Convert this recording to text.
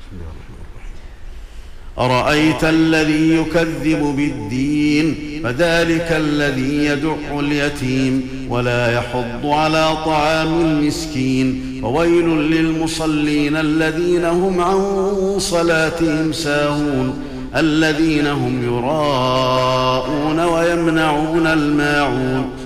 أرأيت الذي يكذب بالدين فذلك الذي يدع اليتيم ولا يحض على طعام المسكين فويل للمصلين الذين هم عن صلاتهم ساهون الذين هم يراءون ويمنعون الماعون